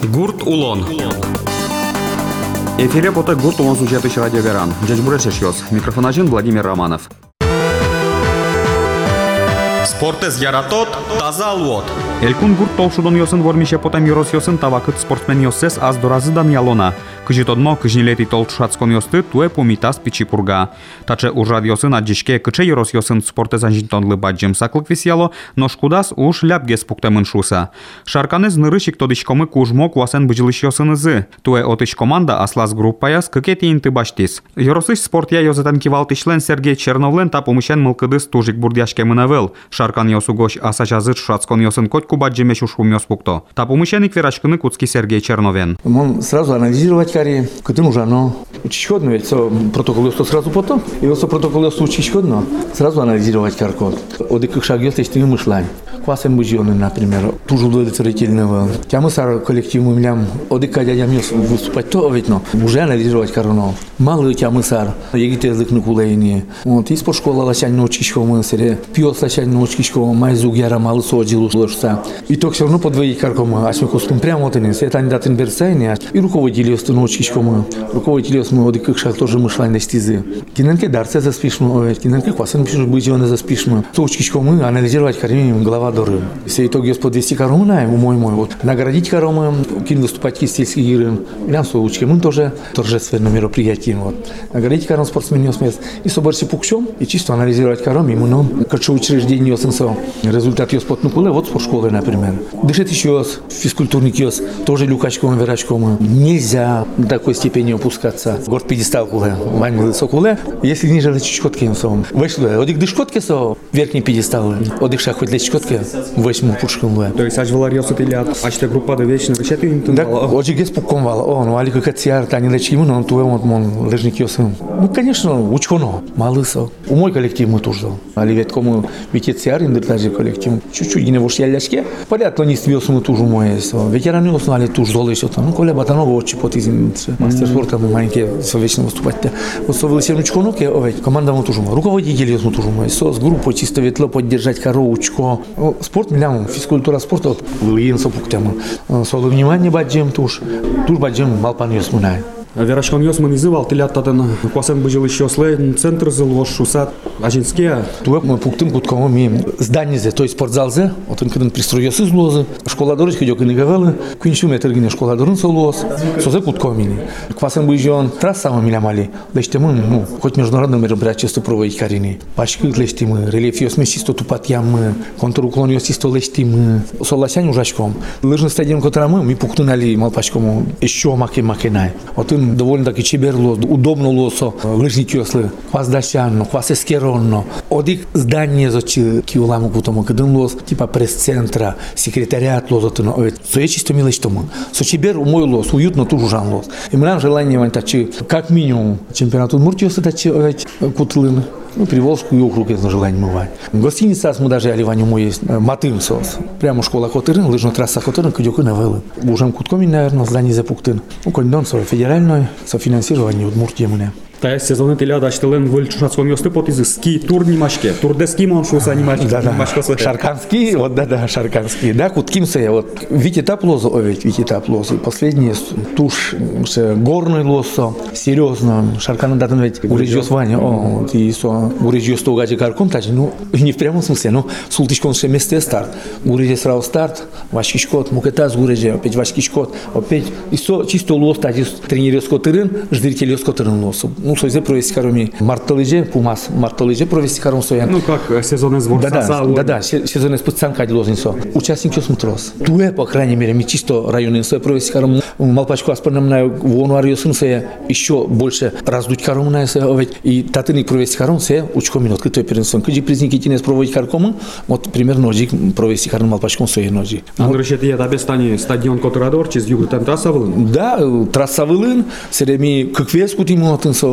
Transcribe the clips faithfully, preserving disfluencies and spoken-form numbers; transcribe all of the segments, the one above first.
Гурт Улон. Эфире пота Гурт Улон сюжеты радио Веран. Джадж Бурешешьос. Микрофон один Владимир Романов. Спортез яратот, таза алвот. Элькун Гурт толшудон йосын вормише потам йорос йосын тавакыт спортсмен йоссес аз доразыдан ялона. Кыжитодмо кыжнилети толшацкон йосты туе помитас пичипурга. Таче уржад йосын аджишке кыче йорос йосын спортез анжинтонлы баджим саклык висяло, но шкудас уж ляпгес пуктемын шуса. Шарканез нырышик тодышкомы кужмо куасен быжилыш йосын ызы. Туе отыш команда аслас группаяс кыкети инты баштис. Йоросыш спорт я йозатан кивалтышлен Сергей Черновлен та помышен мылкыдыс тужик бурдяшке мынавел. Шаркан йосу гош асачазыр шацкон йосын котку баджимеш ушум йоспукто. Та помышен икверачкыны куцки Сергей Черновен. Он сразу анализировать карьеру, когда нужно, но учить ходно, ведь протокол что сразу потом, и вот протокол что учить ходно, сразу анализировать каркод. Вот как шаг есть, если мы шлаем. Квасен бужьоны, например, тоже удовлетворительного. Тямы сар коллектив мы млям, вот как я мес выступать то, ведь но уже анализировать корону. Мало тямы сар, егите язык на кулейни. Вот из школа лачань ночи школа сере, пьёс лачань ночи школа, майзуг яра мало содилу ложца. И то все равно подвоить каркома, а смех устум прямо вот они, это не датен берсайне, и руководили с ночи школа, руководили с мы вот как шаг тоже мы шлань достизы. Киненке дарце заспишмо, киненке квасен пишешь бужьоны заспишмо. Точки школы анализировать карьеру глава. Все итоги подвести коромы на мой мой вот наградить коромы, кин выступать сельские игры, и нам случаи мы тоже торжественное мероприятие вот наградить кором спортсменов смес и собраться пукчом и чисто анализировать кором именно как учреждение сенсо результат ее спортной школы вот спортшколы например дышать еще физкультурный киос тоже люкачком верачком нельзя до такой степени опускаться горд пьедестал куле вань высокуле если ниже лечкотки сом вышло одик дышкотки со верхний пьедестал одик шаг хоть лечкотки восьму пушком было. То есть аж валариос это ля, аж те группа до вечно вещать им да, очень гес пуком вала. О, ну али как тяр, та не лечим, но туе вот мон лежник ёсын. Ну, конечно, учконо, малысо. У мой коллектив мы тоже. Али ведь кому ведь тяр индер даже коллектив. Чуть-чуть не вош яляшке. Понятно, не свёс мы тоже мой. Ветераны узнали тоже золы что там. Ну, коля батанова очень потизин. Мастер спорта мы маленькие совечно выступать. Вот совели все учконо, ке овет. Команда мы тоже. Руководители мы тоже мой. Со с группой чисто ветло поддержать коровочку. Спорт милям, физкультура спорта, лыин сопуктему. Соло внимание баджем туш, туш баджем балпан ёсмунай. Верашкон ёсман изывал, ты лятатан квасен быжил еще слей, центр зылош, шусат, ажинские. Туэк мы пуктым куткому мим здание зе, то есть спортзалзе, вот он когда пристроился из лозы, школа дорожки идёт не говорила, квинчу метр гине школа дорожки лоз, созе куткому мили. Квасен быжон трасса мы милямали, лечте мы, ну, хоть международное мероприятие проводить карини. Пачки лечте мы, рельеф ёс месисто тупат ямы, контруклон ёс исто лечте мы, солосянь ужачком. Лыжный стадион, который мы, мы пуктунали малпачкому еще маки макинай. Вот довольно таки чеберло, удобно лосо, лыжники ослы, хвас дащанно, хвас эскеронно. Одик здание зачи киуламу кутому, когда лос типа пресс-центра, секретариат лозотно, овет. Со чисто мило что мы. Со чебер мой лос, уютно тоже жан лос. И мы нам желание вань тачи, как минимум чемпионат Удмуртии тачи овет кутлын. Ну, Приволжскую округ, это желание бывает. Гостиница, мы даже оливанию мой есть, Матым сос. Прямо школа Котырын, лыжная трасса Котырын, кадёку навелы. Уже куткоми, наверное, здание запуктын. Ну, кондон, со федеральной, софинансирование Удмуртии мне. Та сезоны теля даштылен выльчушатскон ёсты потизы ски тур нимашке. Тур де ски моншуса нимашке. Да-да. Шарканский, вот да-да, шарканский. Да, куткимся, вот вить этап лоза, овет, вить этап лоза. Последний туш, горный лосо, серьезно. Шаркана датан ведь урежёс Ваня, о, и со урежёс то гади карком, тачи, ну, не в прямом смысле, но султичкон ше месте старт. Уреже сразу старт, вашкишкот, мукетаз уреже, опять вашкишкот, опять, и со чисто лос, тачи, тренерёс Котырын, ждырителёс Котырын лосо. Ну, соизе провести кароми марталыже, пумас, марталыже провести каром соян. Ну, как сезон сбор да, да, да, да, сезон спеццанка лозинсо. Участник осмотрос. Туе, по крайней мере, ми чисто районный соя провести каром малпачку аспорным на вонуарию сынсоя еще больше раздуть каром на соя, и татыник провести каром соя учко минут, кто перенсон. Кыджи призники тинес проводить карком, вот примерно ножик провести каром малпачком соя ножи. Андрей, я тебе стане стадион Котырадор, через юг там трасса вылын? Да, трасса вылын, сереми как вес кутимо тынсо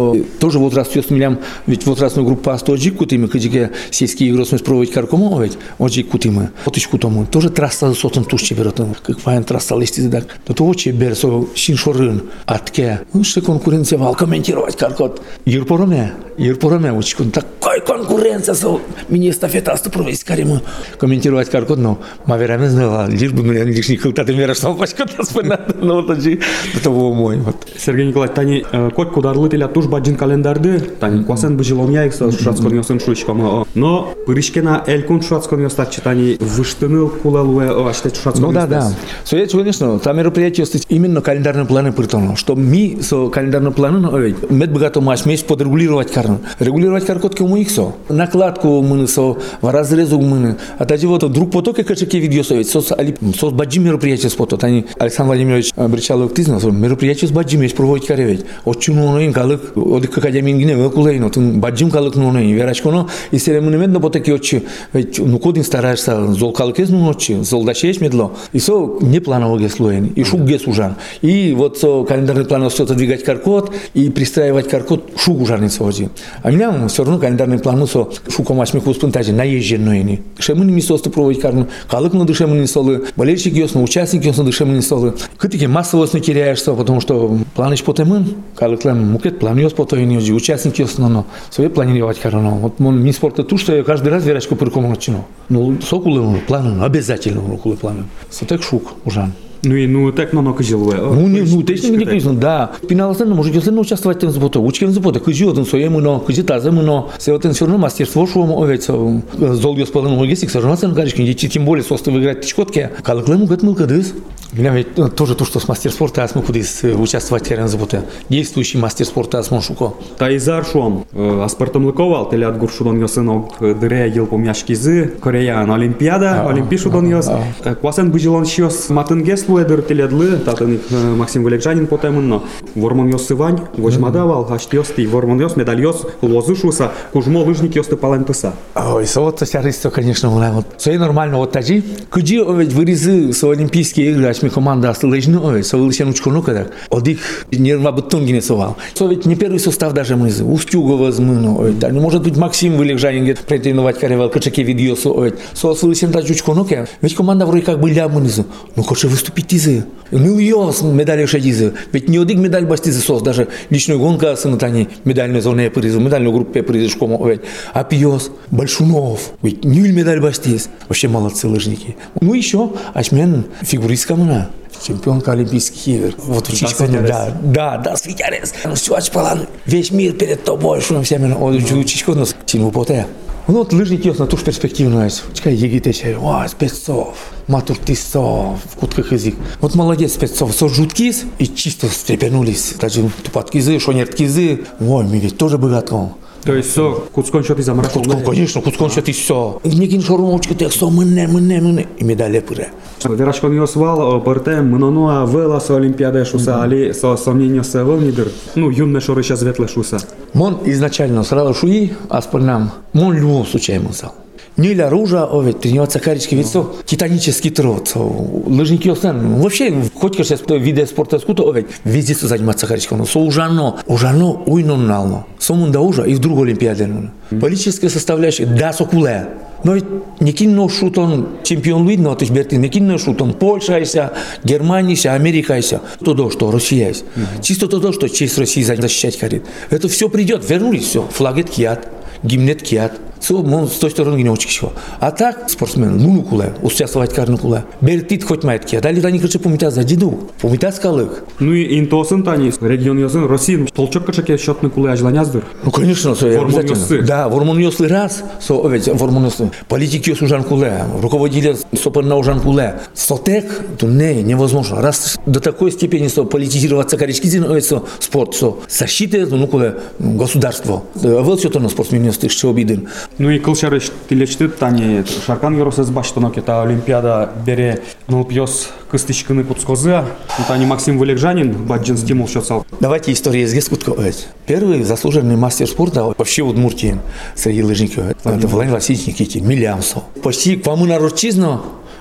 со тоже возраст ёс милям, ведь возрастную группу астоджик кутимы, кыдике сельские игры смысл проводить каркому, ведь оджик кутимы. Вот ещё кутому. Тоже трасса сотом тушче беротом, как файн трасса листи так. Но то очи бер со шиншорын атке. Ну что конкуренция вал комментировать каркот. Юрпороме, юрпороме учкун такой конкуренция со мини-эстафета проводить карему. Комментировать каркот, но маверами знала, лишь бы мне лишний кылтаты мера что пачката спина, но вот оджи того мой. Сергей Николаевич, тани кот кударлы теля туш баджин календарды, тани квасен быжилом яйкса шуратскон ёсын шуичкама. Но пырышкена элькун шуратскон ёстат читани выштыныл кулалуэ аштет шуратскон. Ну да, да. Соедь, конечно, там мероприятие есть именно календарные планы притону, что мы со календарным планом, ведь мед богато маш месяц подрегулировать карну. Регулировать каркот кому их со. Накладку мы со, в разрезу мы. А тогда вот вдруг поток и качеки видео совет. Сос сос баджи мероприятие с поток. Они Александр Владимирович Бричалов ты знал, мероприятие с баджи месяц проводить каревить. Очень много им калык, от как академии не выкулейно. Тун баджим калык ну не верашконо. И серемонный мед на потоке очи. Ведь ну кодин стараешься зол калык из ну очи, зол дашешь медло. И со не планово геслуен. И шук гесужан. И вот со календарный план все это двигать каркот и пристраивать каркот шук ужарница води. А меня все равно календарный план со шуком ашмиху спонтажи наезженные. Шемыни мисосты проводить карну. Калык на дышемыни солы. Болельщики ясно, участники ясно дышемыни солы. Кытики массовость не теряешься, потому что планыч потемын. Калык лем мукет план яс потоини оди. Участники ясно, но свои планировать карну. Вот мон ми спорта ту, что я каждый раз верачку перекому начну. Ну сокулы плану обязательно рукулы плану. Сотек шук ужан. Ну и ну так на нокжилуе. Ну не, ну точно не конечно, да. Пиналсен может если участвовать в заботе, учки в заботе, кыжи один своему, но кыжи тазему, но все вот все равно мастерство шо овец зол господин логистик, сожжался гарички, дети тем более состы выиграть тичкотки. Калыклему гатмыл кадыс. Меня ведь тоже то, что с мастер спорта асму кудис участвовать в заботе. Действующий мастер спорта асмон шуко. Тайзар шон, аспартом лыковал, теля от гуршудон йосынок дыре ел помяшкизы, Кореян Олимпиада, Олимпишудон йос. Квасен быжилон щос матынгес луэдер теледлы, татаник Максим Валерьянин потеменно. Вормон йос сывань, возьмадавал, ашт йости, вормон йос, медаль йос, лозышуса, кужмо лыжник йосты палентуса. Ой, вот сяристо, конечно, вот. Все нормально, вот таджи. Кыджи ведь вырезы с Олимпийские игры, ми команда осталежно, ой, со вылечен учкону когда. Одих нерва бутонги не совал. Со ведь не первый состав даже мы, Устюгова змыно, ой, да, может быть Максим Валерьянин где претендовать каревал, качаки видео со, ой, со вылечен таджи учкону, ведь команда вроде как были амынизы. Ну, хочешь выступить изы. Ну, йос медали шадизы. Ведь не одик медаль бастизы сос, даже личную гонка с натани медальную зону призу, медальную группу призу шкому, ой, а пьёс Большунов, ведь нюль медаль бастиз. Вообще молодцы лыжники. Ну, еще ашмен фигуристка мына. Чемпионка Олимпийских игр. Вот учичка, да, да, да, светярес. Ну, все, очпалан, весь мир перед тобой, что нам всеми, учичка у нас сильно употая. Ну, вот лыжники есть на ту же перспективную. Чекай, егитече, о, спецов, матур тисов, в кутках язык. Вот молодец спецов, со жуткис и чисто встрепенулись. Даже тупаткизы, шонерткизы, ой, мы ведь тоже богато. То есть все, куцкон что ты замрачал? Куцкон, конечно, куцкон что ты все. Никин шорумочка ты все, мыне, мыне, мыне. И медали пыре. Верашкон йосвал, пыртем, мынонуа вела со Олимпиады шуса, али со сомнения се вылнидыр. Ну, юнне шоры сейчас ветле шуса. Мон изначально сразу шуи, а спальнам, мон любого случая мысал. Не для оружия, а ведь тренироваться карички, ведь все титанический труд. Лыжники остан. Вообще, хоть как сейчас виды спорта скуто, ведь везде заниматься каричком. Но со ужано, ужано, уйнон нално. Сомун да ужа и в другой Олимпиаде. Политическая составляющая, да, сокуле. Но ведь не кино шутон чемпион видно, то есть берти не кино шутон Польша ися, Германия ися, Америка ися. То то, что Россия есть. Чисто то, что честь России защищать харит. Это все придет, вернулись, все. Флагет кият, гимнет кият. Все, мы с той стороны не очень чего. А так, спортсмен, ну куле, участвовать карну куле. Бертит хоть маятки, а дали они кричат помитать за деду, помитать скалык. Ну и интосын тани, регион йозын, Россия, толчок качаки счетный куле ажланяздыр. Ну конечно, все обязательно. Да, вормон йосли раз, со ведь вормон йосли. Политики йос ужан куле, руководители сопер на ужан куле. Сотек, то не, невозможно. Раз до такой степени со политизироваться карички зин, со спорт, со защиты, ну куле государство. Вот все то на спортсмен йосли, что обиден. Ну и кылчары тилечти тани шаркан йоросез баштонок это Олимпиада бере нолпьёс кыстычкыны куцкозы, тани Максим Валерьянин баджин стимул счётсал. Давайте историю из Гескутко. Первый заслуженный мастер спорта вообще в Удмуртии среди лыжников. Это Владимир Васильевич Никитин, Милямсо. Почти к вам на ручизну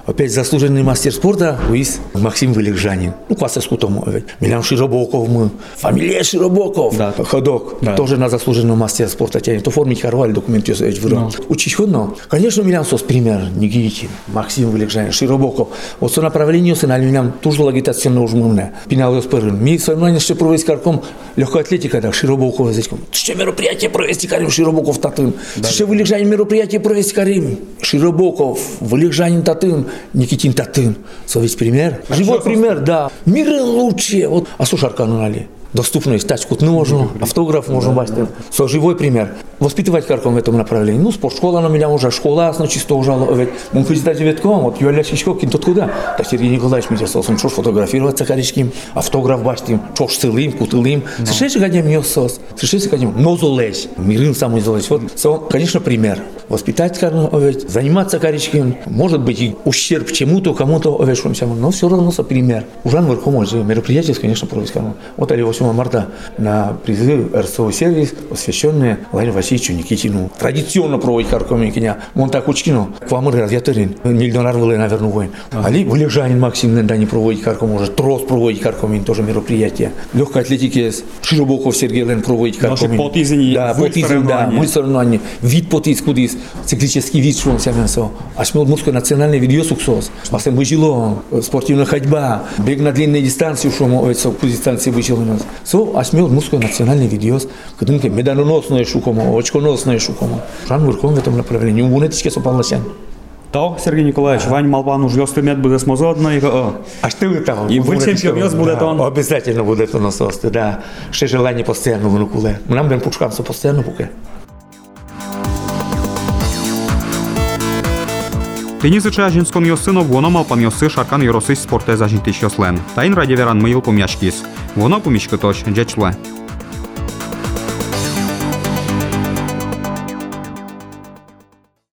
Опять заслуженный мастер спорта Луис Максим Вылегжанин. Ну, класса скутому. Милян Широбоков мы. Фамилия Широбоков. Да. Ходок. Да. Тоже на заслуженного мастера спорта тянет. Оформить хорвали документ ёсович вырал. Учить ходно. Конечно, Милян сос пример. Никитин, Максим Вылегжанин, Широбоков. Вот со направлением сын, али Милян тоже агитационно ужмывне. Пинал ее спырын. Ми соревнования ще провести карком легкой атлетика, да, Широбоков язычком. Ще мероприятие провести карим Широбоков татым. Ще Вылегжанин мероприятие провести карим. Широбоков, Вылегжанин татым, Никитин татым. Совесть пример. Живой пример, да. Миры лучше. Вот, а что шаркану нали? Доступность, тачку можно, автограф можно бачить. Со живой пример. Воспитывать карком в этом направлении. Ну, спортшкола на меня уже, школа, ну, чисто уже. Мы ходим ветком, вот Юля Чичко, кин тот куда. Так Сергей Николаевич меня сосом, что фотографироваться каричким, автограф бачить, что целым, кутылым. Слышишь, гадем ее сос, слышишь, гадем, но золезь, мирым самый золезь. Вот, со, конечно, пример. Воспитать карком, заниматься каричким, может быть, и ущерб чему-то, кому-то, но все равно со пример. Ужан верхом, мероприятие, конечно, проводить карком. Вот ali восьмого марта на призыв эр эс о сервис, посвященный Владимиру Васильевичу Никитину. Традиционно проводить карком Никитина. Он так учкину. К вам разъятерин. Миллионар был, наверное, воин. Али Вылегжанин Максим иногда не проводить карком, может трос проводить карком, тоже мероприятие. Легкой атлетики Широбоков Сергей Лен проводить карком. Потизни. Да, потизни, да. Мы соревнования. Вид потиз, кудис, циклический вид, что он себя со. А смел мужской национальный видео суксос. Басем выжило, спортивная ходьба, бег на длинные дистанции, что мы по дистанции выжило у нас. So, а смел мужской национальный видео, когда меданоносное шукомо, очконосное шукомо. Жан Верхом в этом направлении. У нетичке сополносян. То, Сергей Николаевич, Вань Малпан уж лёстый будет смозодно. А что вы там? И вы чемпион будет он. Обязательно будет он нас, да. Ще желание постоянно внукуле. Мы нам будем пушкаться постоянно пуке. Тенисыча жінскон йосинок воно малпан йоси шаркан йоросись спорте зажінтиш йослен. Та ін раді веран миїл пом'ячкіс. Воно помічки точ, джечле.